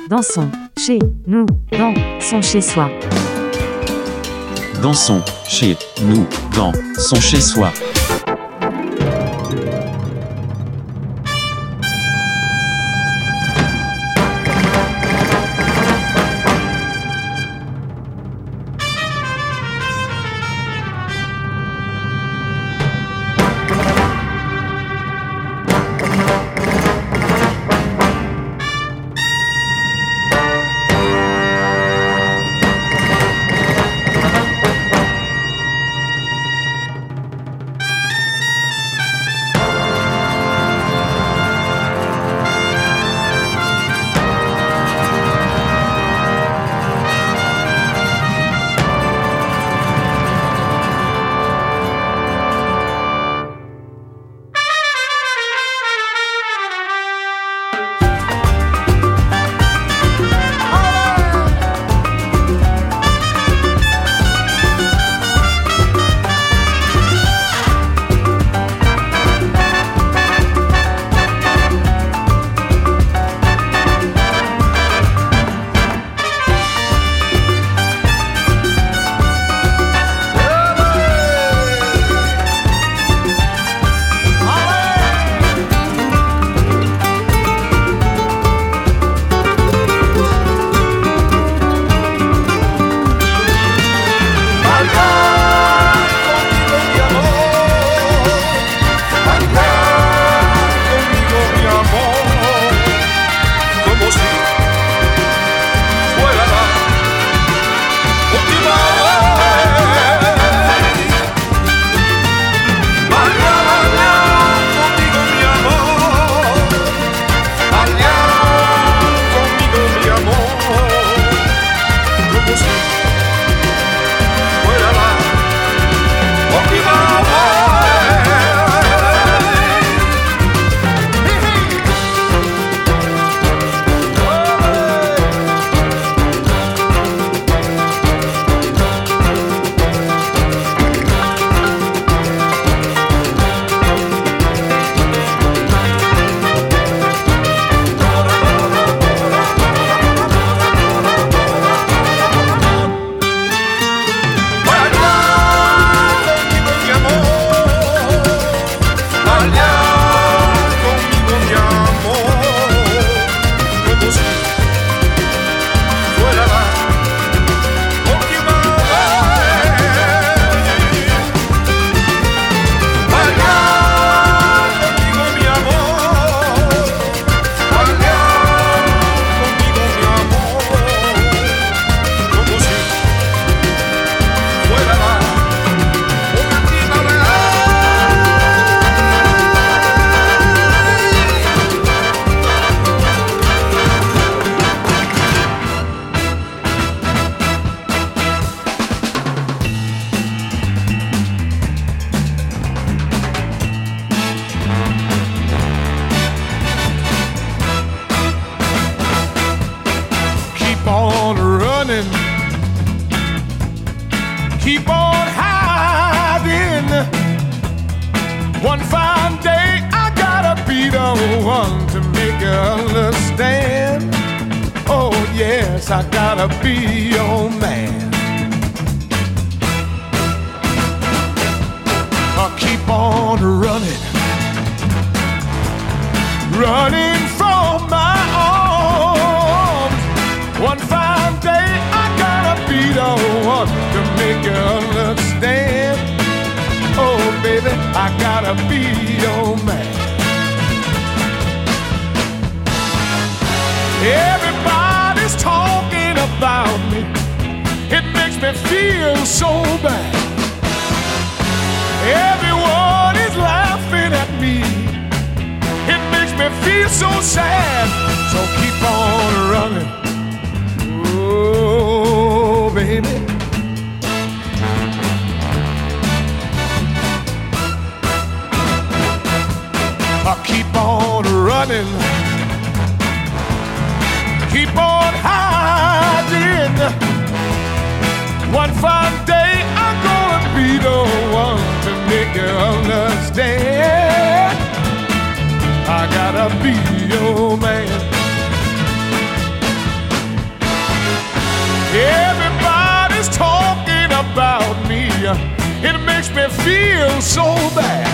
Dansons, chez nous, dans son chez-soi. Dansons, chez nous, dans son chez-soi. Keep on hiding. One fine day I gotta be the one to make you understand. Oh yes, I gotta be your man. I'll keep on running, running from my arms. One fine day I gotta be the one to make you understand. Oh baby, I gotta be your man. Everybody's talking about me. It makes me feel so bad. Everyone is laughing at me. It makes me feel so sad. So keep on running. Oh, baby. I'll keep on running. Keep on hiding. One fine day I'm gonna be the one to make you understand. I gotta be your man. it makes me feel so bad.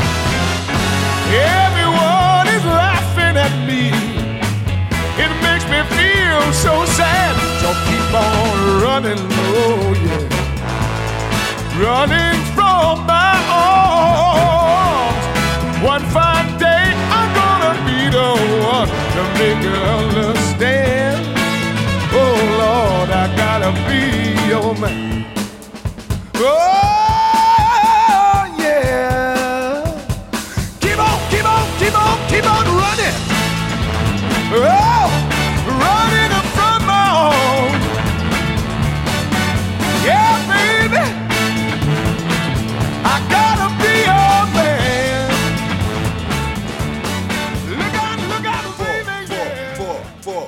Everyone is laughing at me. It makes me feel so sad. So keep on running, oh yeah, running from my arms. One fine day I'm gonna be the one to make you understand. Oh Lord, I gotta be your man. Oh yeah. Keep on, keep on, keep on, keep on running. Oh, running from my home. Yeah, baby, I gotta be your man. Look out, baby, yeah. Four.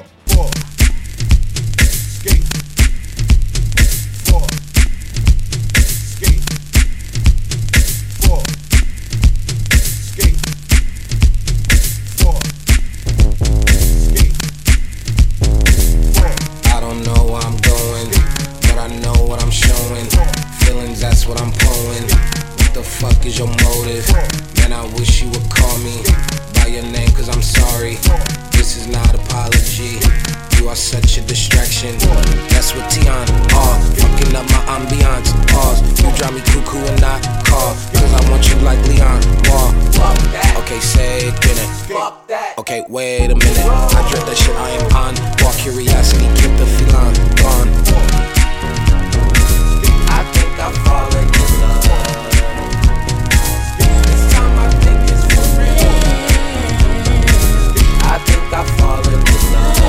Skate. Four. Skate. Four. Skate. Four. Skate. Four. I don't know where I'm going, but I know what I'm showing. Feelings, that's what I'm pulling. What the fuck is your motive? Man, I wish you would call me by your name, cause I'm sorry. This is not apology. You are such a distraction. That's what Tion are. Fucking up my ambiance. Pause. You drive me cuckoo and not call. Cause I want you like Leon Wall. Okay, say it, get it. Okay, wait a minute. I dread that shit, I am on. Walk curiosity, keep the feline gone. I think I'm falling in love. This time I think it's for real. I think I'm falling in love.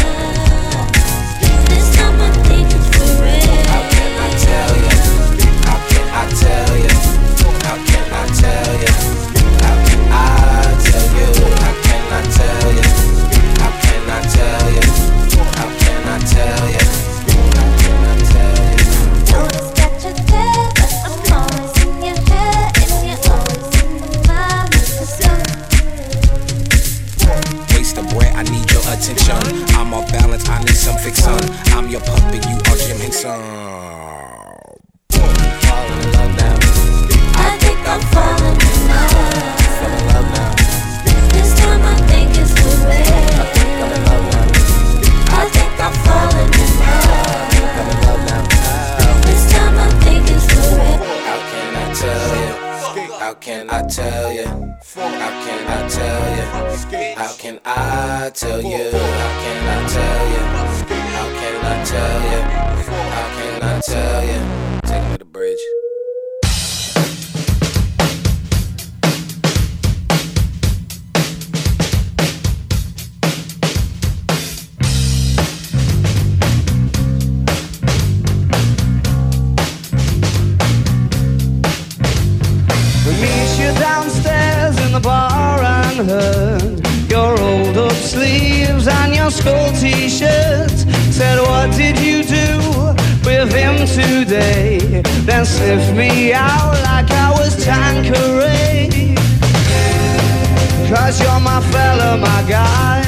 This time I think it's for real. How can I tell you? How can I tell you? How can I tell you? How can I tell you? How can I tell you? How can I tell you? How can I tell you? How can I tell you? Notice that you're there, but I'm always in your head, and you're always in my mind. Waste of bread, I need your attention. I'm off balance, I need some fixin'. I'm your puppet, you are Jim Henson. Fall in love now. I think I'm falling in love. Fall in love now. This time I think it's for real. I think I'm in love now. I think I'm falling in love. I'm in love now. This time I think it's for real. How can I tell you? How can I tell you? How can I tell you? How can I tell you? How can I tell you? How can I tell you? How can I tell you? Take me to the bridge. Meet you downstairs in the bar and heard your rolled up sleeves and your skull t-shirt. Said, what did you do with him today? Then sniffed me out like I was Tanqueray. Cause you're my fella, my guy.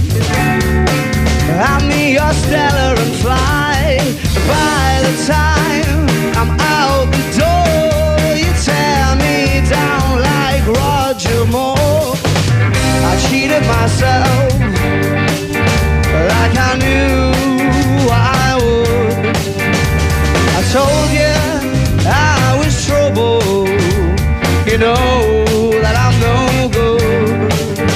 Hand me your Stella and fly. By the time I'm out the door, you tear me down like Roger Moore. I cheated myself like I knew I would. I told you I was trouble. You know that I'm no good.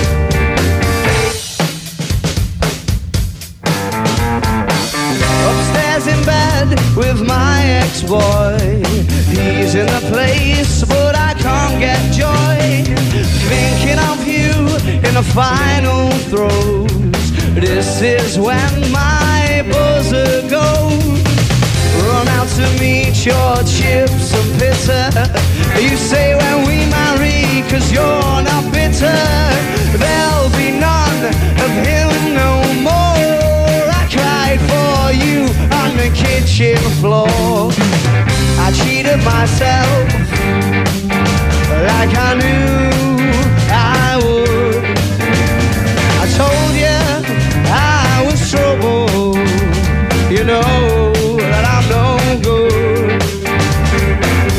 Upstairs in bed with my ex-boy. He's in the place, but I can't get joy. Thinking of you in the final throes. This is when my buzzer goes. Run out to meet your chips and bitter. You say when we marry, cause you're not bitter. There'll be none of him no more. I cried for you on the kitchen floor. I cheated myself like I knew I would. I told you I was trouble. You know that I'm no good.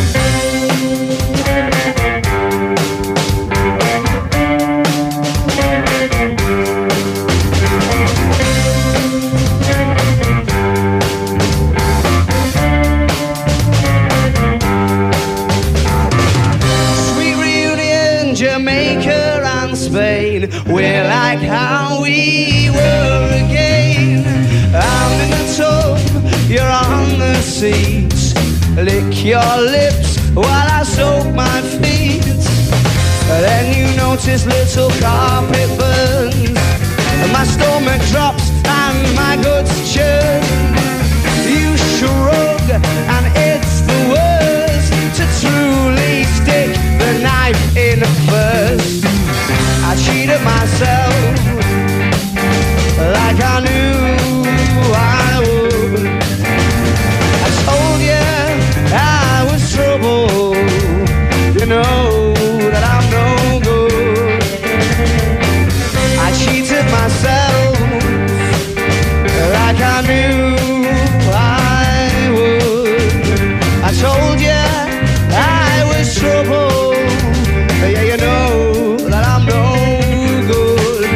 seats. Lick your lips while I soak my feet. Then you notice little carpet burns. My stomach drops and my guts churn. You shrug and it's the worst to truly stick the knife in first. I cheated myself like I knew I would. I told you I was trouble. You know that I'm no good. I cheated myself like I knew I would. I told you I was trouble. Yeah, you know that I'm no good.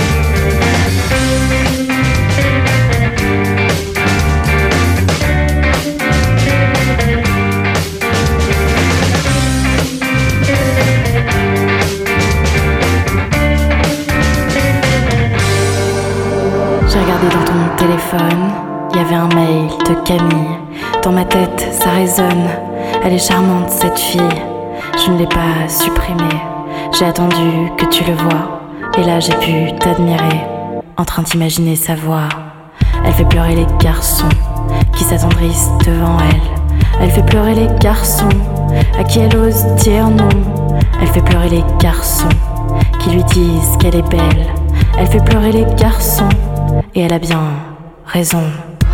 J'ai regardé dans ton téléphone, il y avait un mail de Camille. Dans ma tête, ça résonne. Elle est charmante cette fille. Je ne l'ai pas supprimée. J'ai attendu que tu le vois. Et là j'ai pu t'admirer, en train d'imaginer sa voix. Elle fait pleurer les garçons qui s'attendrissent devant elle. Elle fait pleurer les garçons à qui elle ose dire non. Elle fait pleurer les garçons qui lui disent qu'elle est belle. Elle fait pleurer les garçons et elle a bien raison.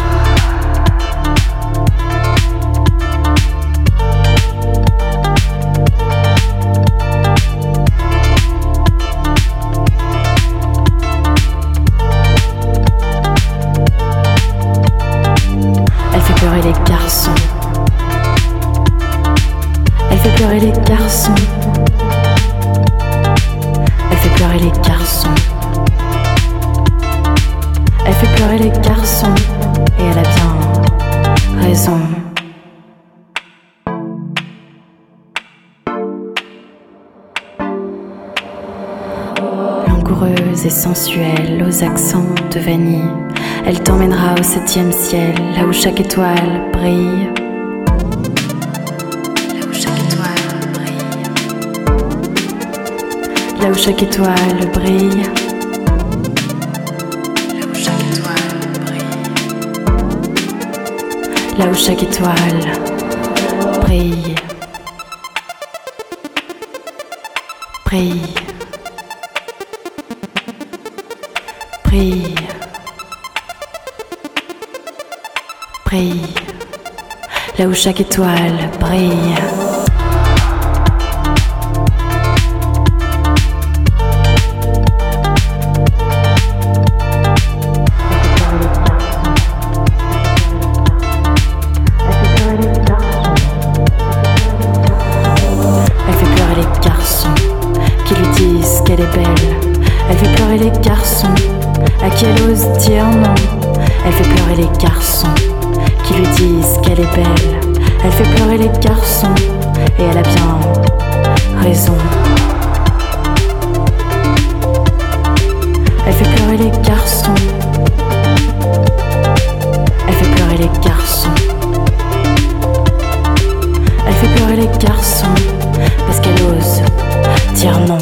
Elle fait pleurer les garçons. Elle fait pleurer les garçons. Elle fait pleurer les garçons. Elle fait pleurer les garçons et elle a bien raison. Langoureuse et sensuelle, aux accents de vanille, elle t'emmènera au 7e ciel, là où chaque étoile brille. Là où chaque étoile brille. Là où chaque étoile brille. Là où chaque étoile brille, brille, brille, brille. Là où chaque étoile brille. Elle est belle, elle fait pleurer les garçons à qui elle ose dire non. Elle fait pleurer les garçons qui lui disent qu'elle est belle. Elle fait pleurer les garçons et elle a bien raison. Elle fait pleurer les garçons. Elle fait pleurer les garçons. Elle fait pleurer les garçons parce qu'elle ose dire non.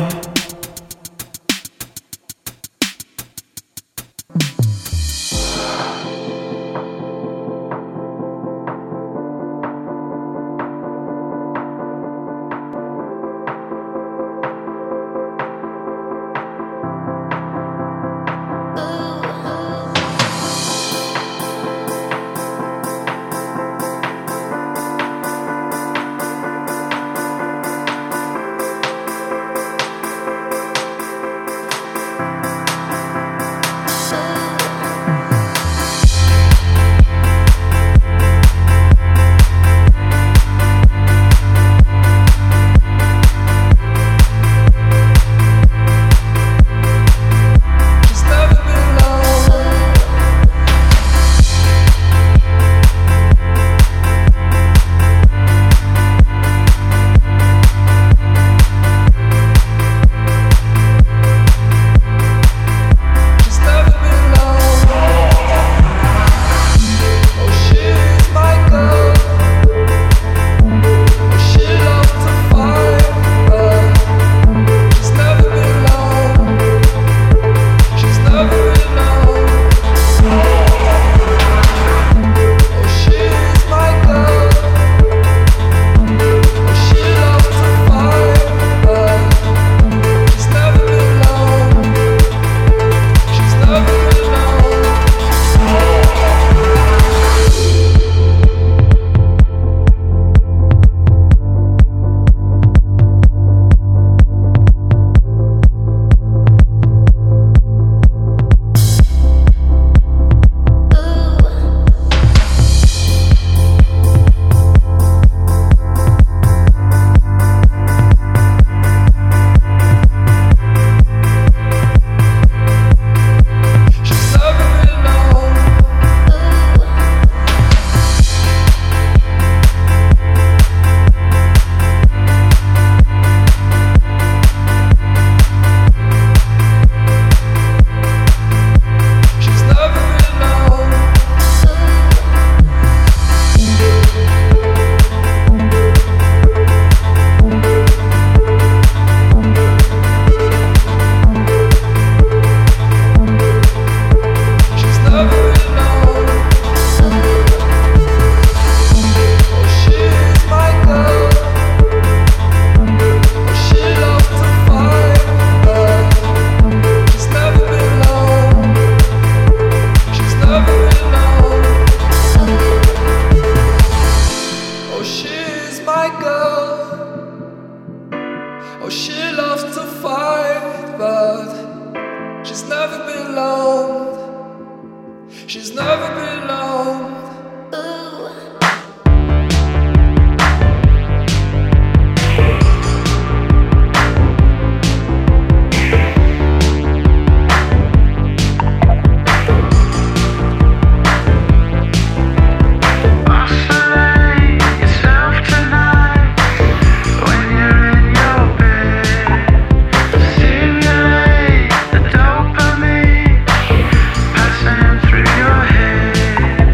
Ooh. She's never been alone. Passing through your head.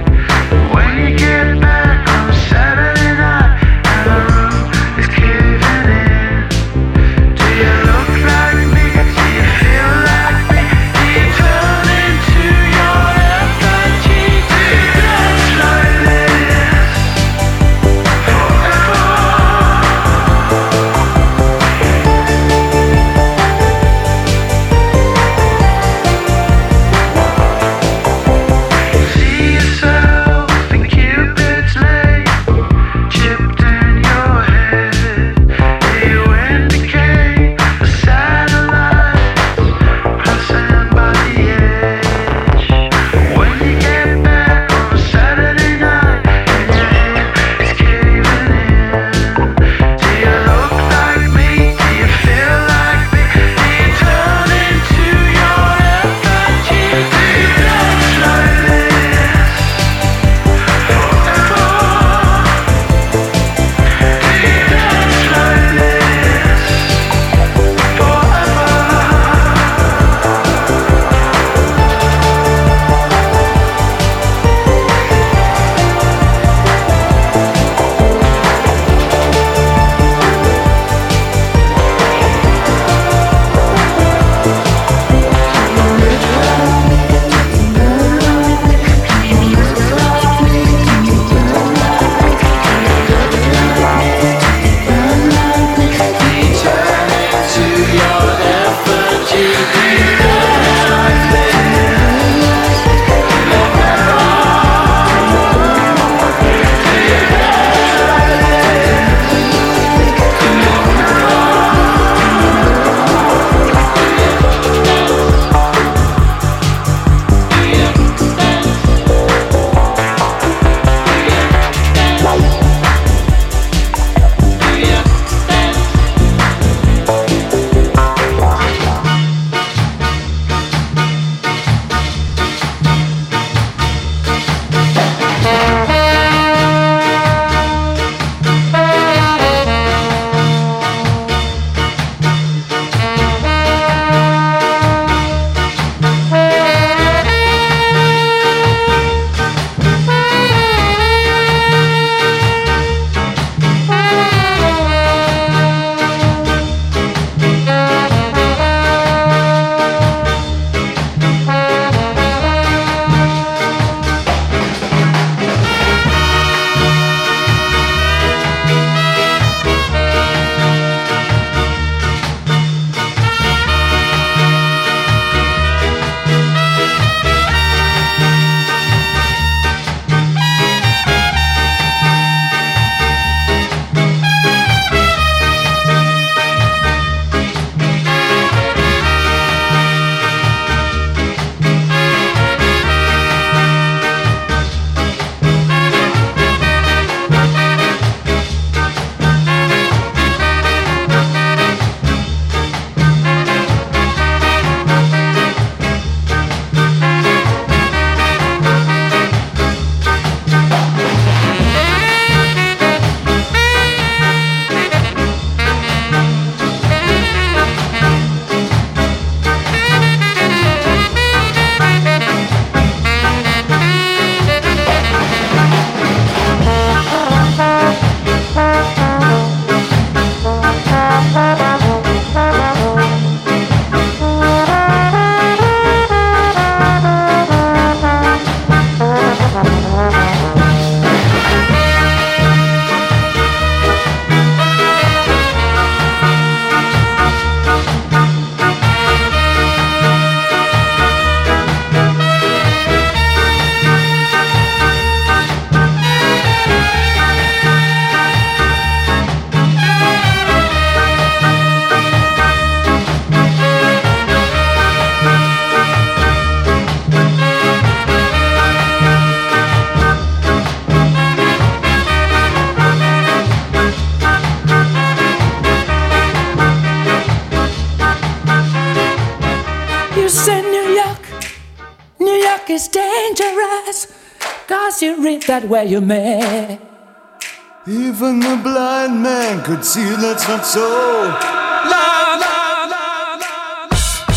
'cause you read that where you're mad. Even the blind man could see that's not so. La la la la la.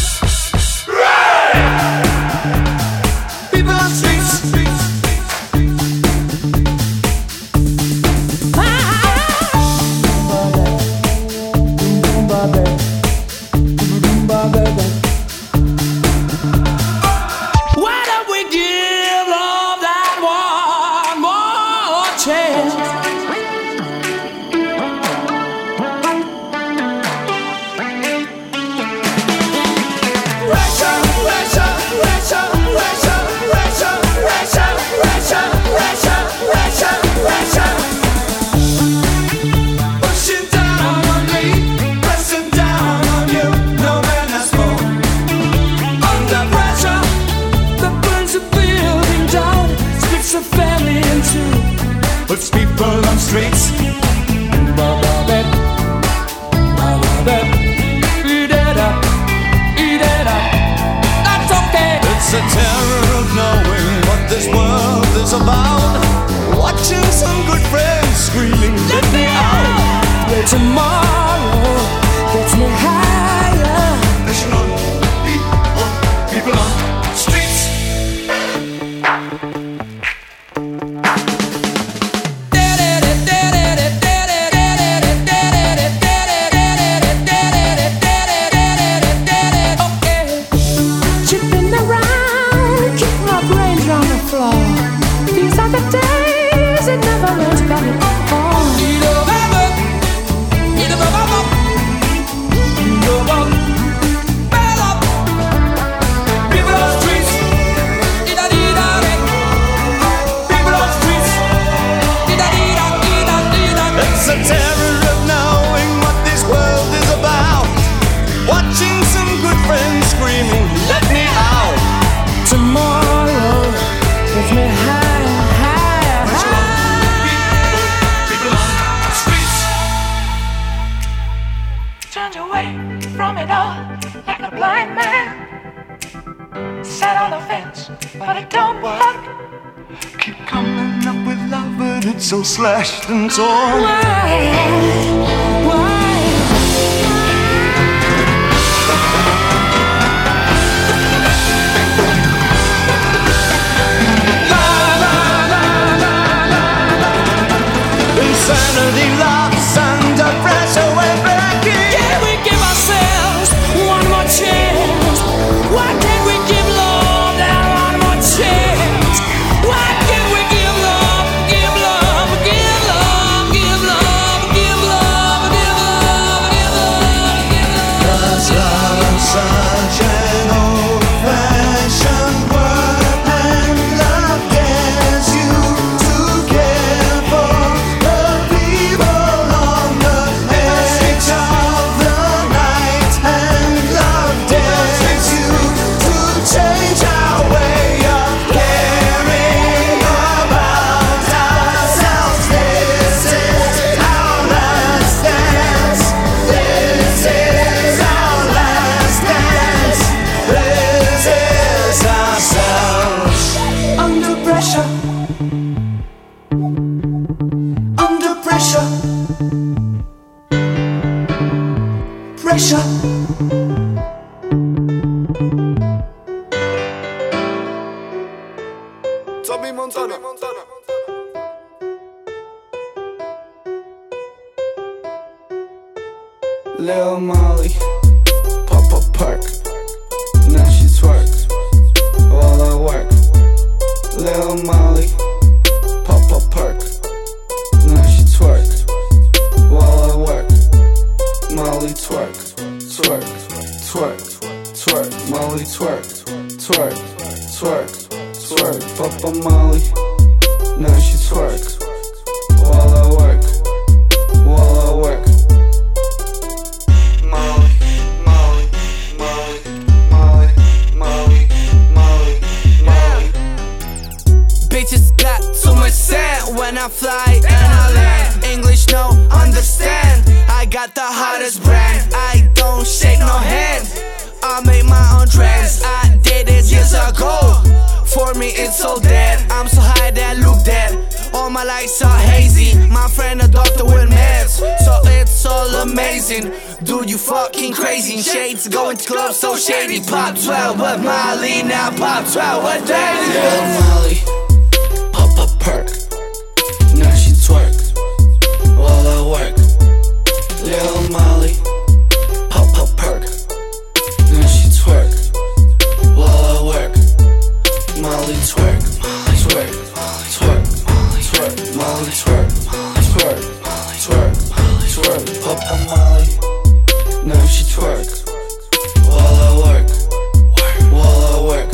People on streets. Why don't we give love that one more chance? Pushing down on me, pressing down on you. No man has more. Under pressure, That burns a building down, splits a family in two. puts people on streets. Eat it up, that's okay. It's a terror of knowing what this world is about. Watching some good friends screaming, let me out. Where tomorrow gets me higher. Listen on, people on streets. Chipping around, keep my brains on the floor. These are the days it never learns about it all. People on streets. People on streets. It's a terror of knowing what this world is about. Watching some good friends screaming, let me out. Tomorrow gets me higher, higher, higher. People on streets. Turned away from it all like a blind man. Sat on the fence, but it don't work. Keep coming up with love, but it's so slashed and torn. Why? Insanity loves under pressure, we're breaking. Can we give ourselves one more chance? Why can't we give love that one more chance? Why can't we give love, give love, give love, give love, give love, give love, give love, give love? 'Cause love's such an old-fashioned word, and love gets you to care for the people on the edge of the night, and love dares you to change our way of caring about ourselves. This is our last dance. This is our last dance. This is ourselves. Under pressure, Under pressure. Pressure. Tommy Montana. Lil Molly, pop a perk. Now she twerks while I work. Lil Molly, pop a perk. Now she twerks while I work. Molly twerk, twerk, twerk, twerk. Molly twerk, twerk, twerk, twerk. Papa Molly, now she twerks while I work. While I work. Molly, Molly, Molly, Molly, Molly, Molly, Molly. Bitches got too much sand when I fly and I land. English no understand. I got the hottest brand. I don't shake no hand. I make my own trends. I did it years ago. For me it's so dead. I'm so high that my lights are hazy. My friend a doctor with meds, so it's all amazing. Dude, you fucking crazy. Shades going to clubs so shady. Pop 12 with Molly, now pop 12 with Daisy. Lil Molly, pop a perk. Now she twerk while I work. Lil Molly, pop a perk. Now she twerk while I work. Molly twerk, Molly twerk, Molly twerk, Molly twerk, Molly twerk, Molly twerk, Molly twerk, Molly twerk, pop a Molly. Now she twerk while I work, while I work.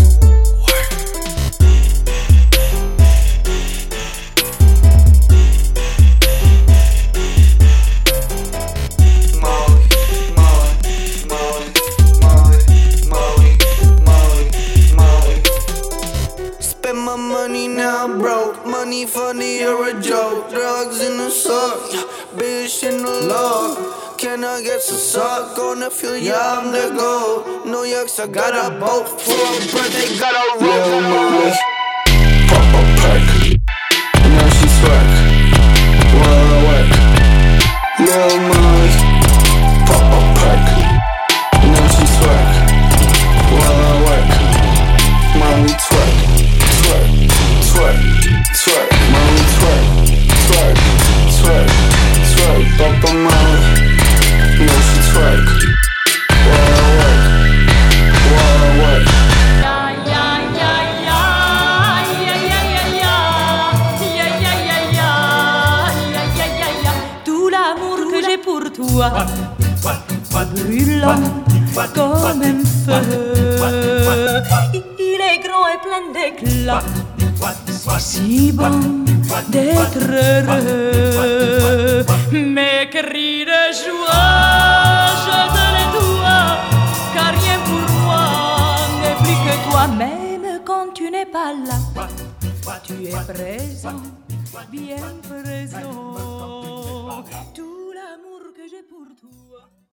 My money now broke, money funny or a joke. Drugs in the sock, bitch in the law. Can I get some sock? Gonna feel yeah, I'm the goal. New York's I got a boat for a birthday, got a Lil Molly, pop a perk. Now she twerk while I work. Lil Molly, pop a perk. Now she twerk while I work. Molly twerk. Twerk, twerk, Molly twerk, twerk, twerk, twerk, Papa Molly. Now she twerk while I work, while I work. Tout l'amour que j'ai pour toi brûlant comme un feu. Il est grand et plein d'éclat. C'est si bon d'être heureux. Mes cris de joie, je te les dois, car rien pour moi n'est plus que toi. Même quand tu n'es pas là, tu es présent, bien présent. Tout l'amour que j'ai pour toi.